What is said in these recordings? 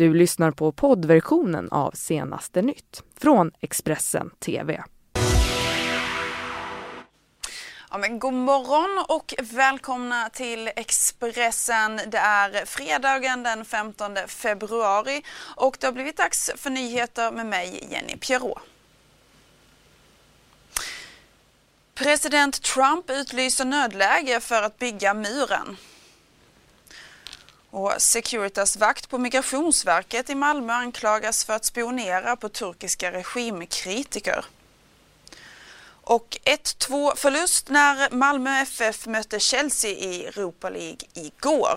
Du lyssnar på poddversionen av Senaste nytt från Expressen TV. Ja, men god morgon och välkomna till Expressen. Det är fredagen den 15 februari och det har blivit dags för nyheter med mig, Jenny Pierrot. President Trump utlyser nödläge för att bygga muren. Och Securitas-vakt på Migrationsverket i Malmö anklagas för att spionera på turkiska regimkritiker. Och 1-2 förlust när Malmö FF mötte Chelsea i Europa League igår.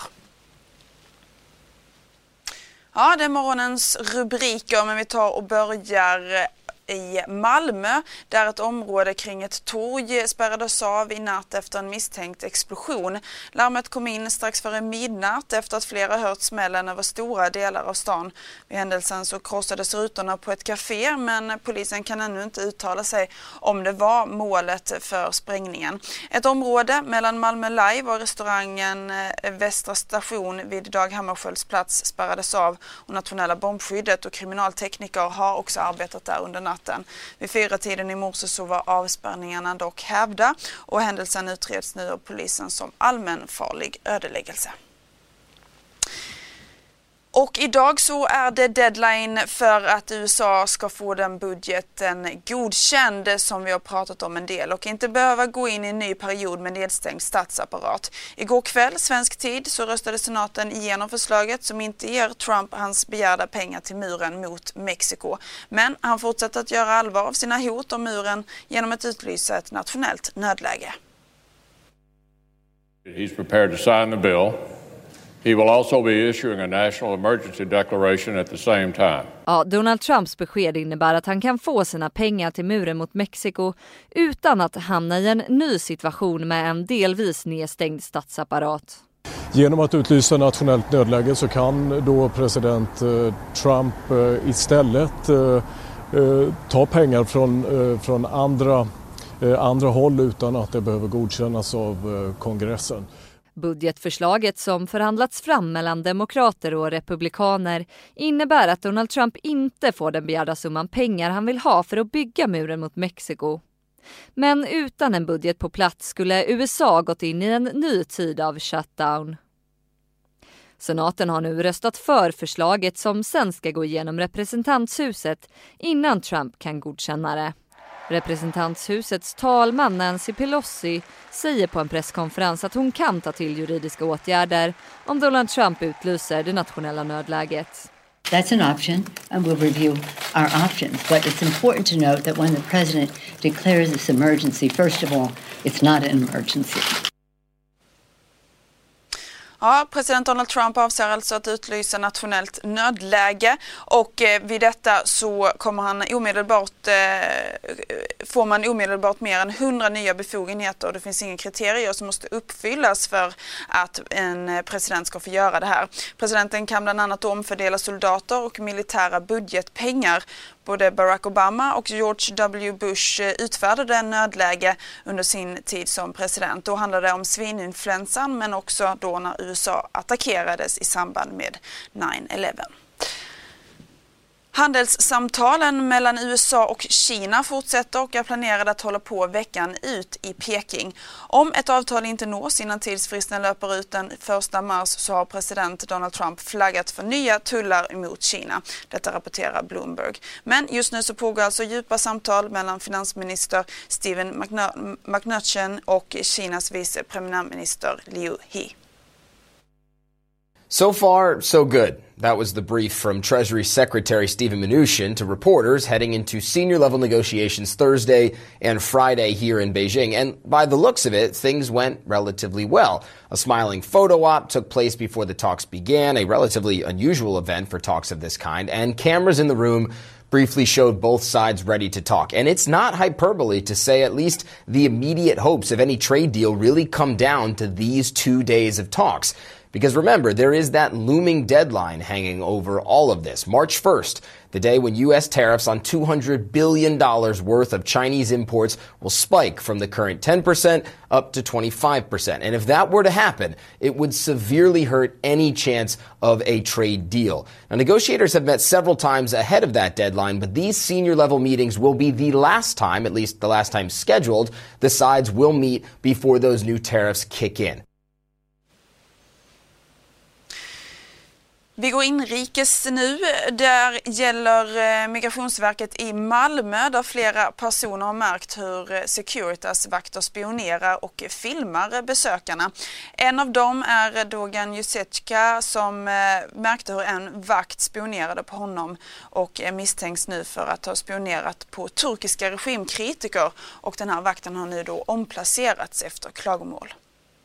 Ja, det är morgonens rubriker, men vi tar och börjar i Malmö där ett område kring ett torg spärrades av i natt efter en misstänkt explosion. Larmet kom in strax före midnatt efter att flera hört smällen över stora delar av stan. Vid händelsen så krossades rutorna på ett café, men polisen kan ännu inte uttala sig om det var målet för sprängningen. Ett område mellan Malmö Live och restaurangen Västra station vid Dag Hammarskjölds plats spärrades av och nationella bombskyddet och kriminaltekniker har också arbetat där under natten. Vid 4-tiden i morse så var avspärrningarna dock hävda och händelsen utreds nu av polisen som allmänfarlig ödeläggelse. Och idag så är det deadline för att USA ska få den budgeten godkänd som vi har pratat om en del och inte behöva gå in i en ny period med nedstängd statsapparat. Igår kväll, svensk tid, så röstade senaten igenom förslaget som inte ger Trump hans begärda pengar till muren mot Mexiko. Men han fortsätter att göra allvar av sina hot om muren genom att utlysa ett nationellt nödläge. He's prepared to sign the bill. He will also be issuing a national emergency declaration at the same time. Ja, Donald Trumps besked innebär att han kan få sina pengar till muren mot Mexiko utan att hamna i en ny situation med en delvis nedstängd statsapparat. Genom att utlysa nationellt nödläge så kan då president Trump istället ta pengar från andra håll utan att det behöver godkännas av kongressen. Budgetförslaget som förhandlats fram mellan demokrater och republikaner innebär att Donald Trump inte får den begärda summan pengar han vill ha för att bygga muren mot Mexiko. Men utan en budget på plats skulle USA gått in i en ny tid av shutdown. Senaten har nu röstat för förslaget som sen ska gå igenom representanthuset innan Trump kan godkänna det. Representanthusets talman Nancy Pelosi säger på en presskonferens att hon kan ta till juridiska åtgärder om Donald Trump utlyser det nationella nödläget. That's an option and we'll review our options. But it's important to note that when the president declares this emergency, first of all, it's not an emergency. Ja, president Donald Trump avser alltså att utlysa nationellt nödläge och vid detta så kommer får man omedelbart mer än 100 nya befogenheter och det finns inga kriterier som måste uppfyllas för att en president ska få göra det här. Presidenten kan bland annat omfördela soldater och militära budgetpengar. Både Barack Obama och George W. Bush utfärdade en nödläge under sin tid som president. Då handlade det om svininfluensan men också då när USA attackerades i samband med 9/11. Handelssamtalen mellan USA och Kina fortsätter och är planerade att hålla på veckan ut i Peking. Om ett avtal inte nås innan tidsfristen löper ut den 1 mars så har president Donald Trump flaggat för nya tullar mot Kina. Detta rapporterar Bloomberg. Men just nu så pågår alltså djupa samtal mellan finansminister Steven Mnuchin och Kinas vice premiärminister Liu He. So far, so good. That was the brief from Treasury Secretary Steven Mnuchin to reporters heading into senior-level negotiations Thursday and Friday here in Beijing. And by the looks of it, things went relatively well. A smiling photo op took place before the talks began, a relatively unusual event for talks of this kind, and cameras in the room briefly showed both sides ready to talk. And it's not hyperbole to say at least the immediate hopes of any trade deal really come down to these 2 days of talks. Because remember, there is that looming deadline hanging over all of this. March 1st, the day when U.S. tariffs on $200 billion worth of Chinese imports will spike from the current 10% up to 25%. And if that were to happen, it would severely hurt any chance of a trade deal. Now, negotiators have met several times ahead of that deadline, but these senior-level meetings will be the last time, at least the last time scheduled, the sides will meet before those new tariffs kick in. Vi går inrikes nu. Där gäller Migrationsverket i Malmö där flera personer har märkt hur Securitas-vakter spionerar och filmar besökarna. En av dem är Dogan Jusecka som märkte hur en vakt spionerade på honom och misstänks nu för att ha spionerat på turkiska regimkritiker, och den här vakten har nu då omplacerats efter klagomål.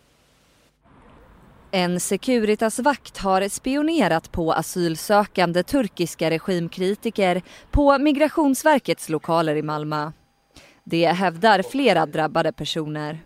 En Securitas-vakt har spionerat på asylsökande turkiska regimkritiker på Migrationsverkets lokaler i Malmö. Det hävdar flera drabbade personer.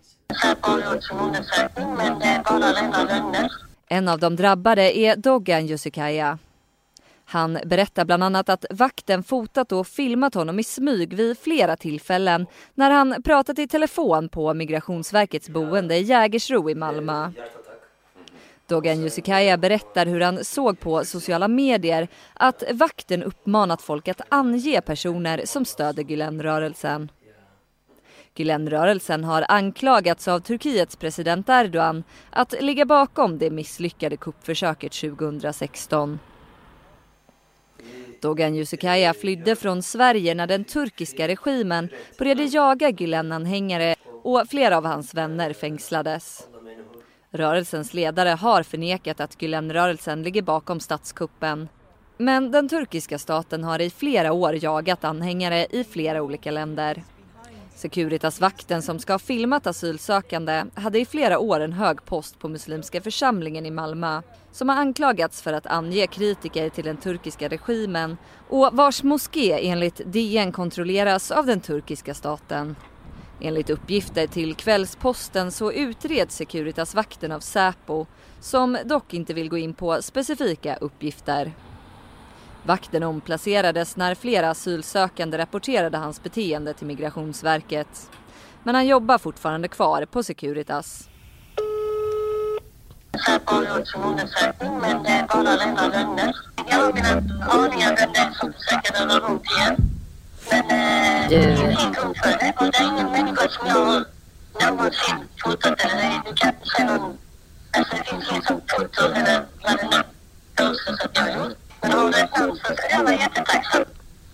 En av de drabbade är Dogan Jusecka. Han berättar bland annat att vakten fotat och filmat honom i smyg vid flera tillfällen när han pratat i telefon på Migrationsverkets boende i Jägersro i Malmö. Dogan Jusecka berättar hur han såg på sociala medier att vakten uppmanat folk att ange personer som stöder Gülenrörelsen. Gülenrörelsen har anklagats av Turkiets president Erdogan att ligga bakom det misslyckade kuppförsöket 2016. Dogan Jusecka flydde från Sverige när den turkiska regimen började jaga Gülen-anhängare och flera av hans vänner fängslades. Rörelsens ledare har förnekat att Gülenrörelsen ligger bakom statskuppen. Men den turkiska staten har i flera år jagat anhängare i flera olika länder. Securitas-vakten som ska ha filmat asylsökande hade i flera år en hög post på muslimska församlingen i Malmö som har anklagats för att ange kritiker till den turkiska regimen och vars moské enligt DN kontrolleras av den turkiska staten. Enligt uppgifter till Kvällsposten så utreds Securitas-vakten av Säpo som dock inte vill gå in på specifika uppgifter. Vakten omplacerades när flera asylsökande rapporterade hans beteende till Migrationsverket. Men han jobbar fortfarande kvar på Securitas. Säpo har gjort sin undersökning, men det är bara rena lögner. Jag har mina aningar vem det är som försöker röra runt igen. Men det är helt oförrätt och det är ingen människa som jag har någonsin fotat eller du kan se någon. Alltså det finns ingen som foto eller vad det nu påstås att jag har gjort. Men har du ett namn så ska jag vara jättetacksam.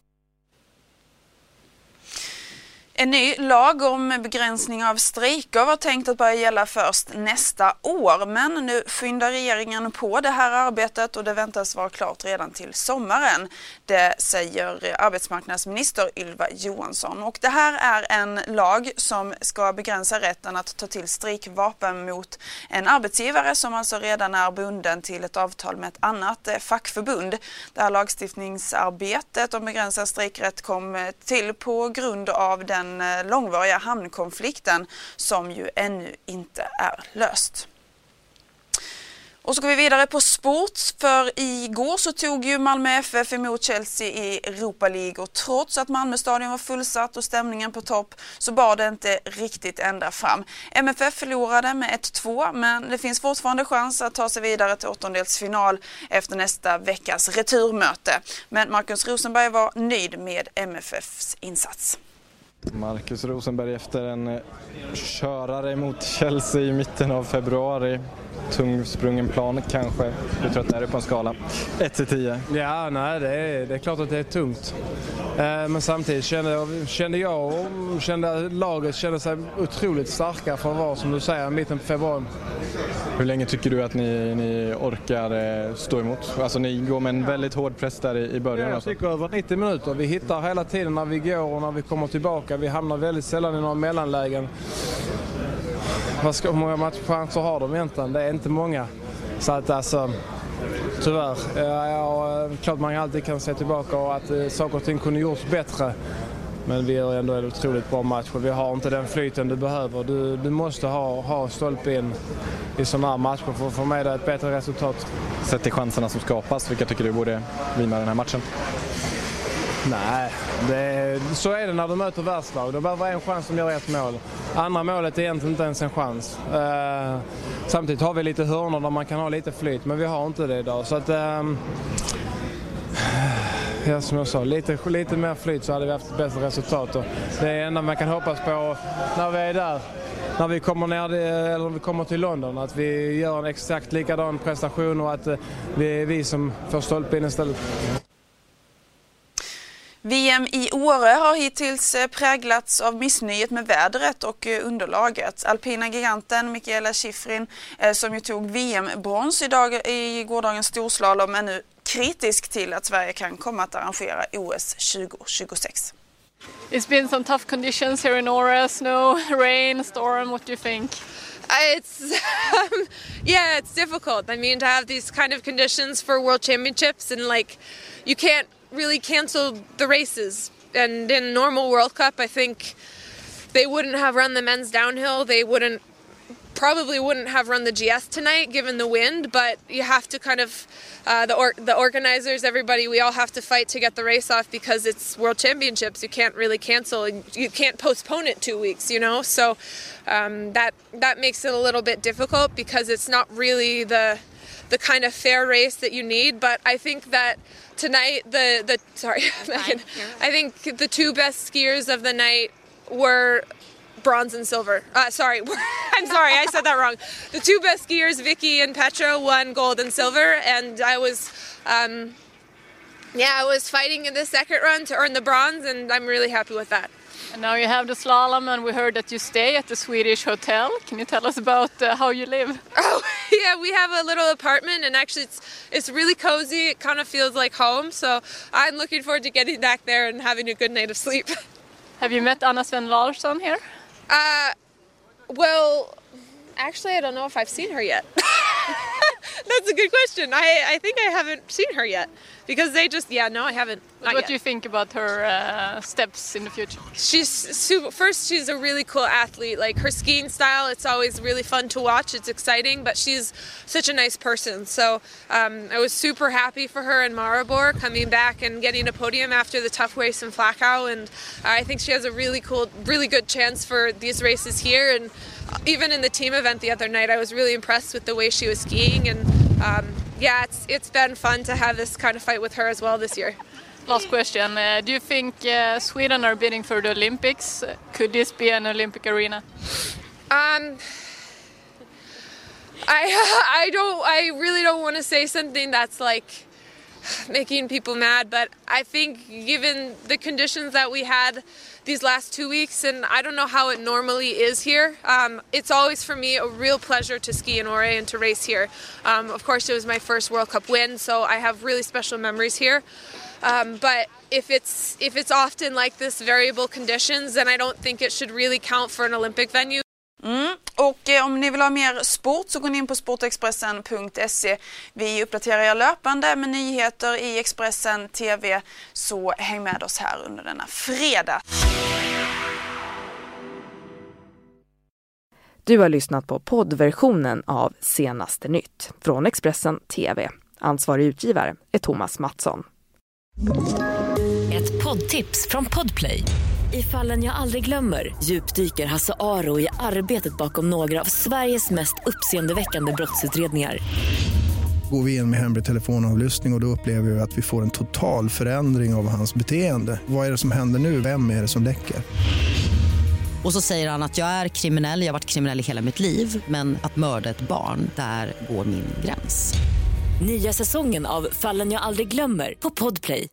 En ny lag om begränsning av strejker var tänkt att börja gälla först nästa år, men nu skyndar regeringen på det här arbetet och det väntas vara klart redan till sommaren. Det säger arbetsmarknadsminister Ylva Johansson. Och det här är en lag som ska begränsa rätten att ta till strejkvapen mot en arbetsgivare som alltså redan är bunden till ett avtal med ett annat fackförbund. Det här lagstiftningsarbetet om begränsad strejkrätt kom till på grund av den långvariga hamnkonflikten som ju ännu inte är löst. Och så går vi vidare på sport, för igår så tog ju Malmö FF emot Chelsea i Europa League och trots att Malmö stadion var fullsatt och stämningen på topp så bar det inte riktigt ända fram. MFF förlorade med 1-2, men det finns fortfarande chans att ta sig vidare till åttondelsfinal efter nästa veckas returmöte. Men Marcus Rosenberg var nöjd med MFFs insats. Marcus Rosenberg efter en körare mot Chelsea i mitten av februari. Tungsprungen plan kanske. Hur trött är du på en skala? 1-10. Ja, nej, det är klart att det är tungt. Men samtidigt kände jag och laget kände sig otroligt starka för att vara, som du säger, mitten på februari. Hur länge tycker du att ni orkar stå emot? Alltså ni går med en väldigt hård press där i början. Jag tycker över 90 minuter. Vi hittar hela tiden när vi går och när vi kommer tillbaka. Vi hamnar väldigt sällan i några mellanlägen. Hur många matchchanser har de egentligen? Det är inte många. Så att alltså, tyvärr. Klart man alltid kan se tillbaka och att saker och ting kunde gjorts bättre. Men vi gör ändå en otroligt bra match och vi har inte den flyten du behöver. Du måste ha stolpe in i sådana här matcher för att få med dig ett bättre resultat. Sett till chanserna som skapas, vilka tycker du borde vinna den här matchen? Nej, så är det när du möter världslag. Det behöver en chans som gör ett mål. Andra målet är egentligen inte ens en chans. Samtidigt har vi lite hörnor där man kan ha lite flyt, men vi har inte det idag. Så att, ja, som jag sa, lite mer flyt så hade vi haft ett bättre resultat. Och det är enda man kan hoppas på när vi är där. När vi kommer ner eller vi kommer till London, att vi gör en exakt likadan prestation och att det är vi som får stolpe in istället. VM i Åre har hittills präglats av missnöjet med vädret och underlaget. Alpina giganten Mikaela Shiffrin, som ju tog VM-brons i gårdagens storslalom, är nu kritisk till att Sverige kan komma att arrangera OS 2026. It's been some tough conditions here in Åre, snow, rain, storm. What do you think? It's it's difficult. I mean, to have these kind of conditions for World Championships, and like you can't really cancel the races. And in normal World Cup, I think they wouldn't have run the men's downhill. They probably wouldn't have run the GS tonight given the wind, but you have to kind of the organizers, everybody, we all have to fight to get the race off because it's World Championships. You can't really cancel, you can't postpone it 2 weeks, you know. So that makes it a little bit difficult because it's not really the kind of fair race that you need. But I think that tonight I think the two best skiers of the night were bronze and silver. I'm sorry, I said that wrong. The two best skiers, Vicky and Petra, won gold and silver, and I was fighting in the second run to earn the bronze, and I'm really happy with that. And now you have the slalom, and we heard that you stay at the Swedish hotel. Can you tell us about how you live? Oh, yeah, we have a little apartment, and actually it's really cozy. It kind of feels like home, so I'm looking forward to getting back there and having a good night of sleep. Have you met Anna Sven Larsson here? Well, actually, I don't know if I've seen her yet. That's a good question. I think I haven't seen her yet because they just, no, I haven't. What do you think about her steps in the future? She's a really cool athlete. Like her skiing style, it's always really fun to watch. It's exciting, but she's such a nice person. So I was super happy for her in Maribor coming back and getting a podium after the tough race in Flachau. And I think she has a really good chance for these races here. And even in the team event the other night, I was really impressed with the way she was skiing. And it's been fun to have this kind of fight with her as well this year. Last question. Do you think Sweden are bidding for the Olympics? Could this be an Olympic arena? I really don't want to say something that's like making people mad, but I think given the conditions that we had these last 2 weeks, and I don't know how it normally is here, it's always for me a real pleasure to ski in Åre and to race here. Of course, it was my first World Cup win, so I have really special memories here. But if it's often like this variable conditions, then I don't think it should really count for an Olympic venue. Och om ni vill ha mer sport så gå in på sportexpressen.se. Vi uppdaterar er löpande med nyheter i Expressen TV, så häng med oss här under denna fredag. Du har lyssnat på poddversionen av Senaste nytt från Expressen TV. Ansvarig utgivare är Thomas Mattsson. Ett poddtips från Podplay. I Fallen jag aldrig glömmer djupdyker Hasse Aro i arbetet bakom några av Sveriges mest uppseendeväckande brottsutredningar. Går vi in med hemlig telefonavlyssning och då upplever vi att vi får en total förändring av hans beteende. Vad är det som händer nu? Vem är det som läcker? Och så säger han att jag är kriminell, jag har varit kriminell i hela mitt liv. Men att mörda ett barn, där går min gräns. Nya säsongen av Fallen jag aldrig glömmer på Podplay.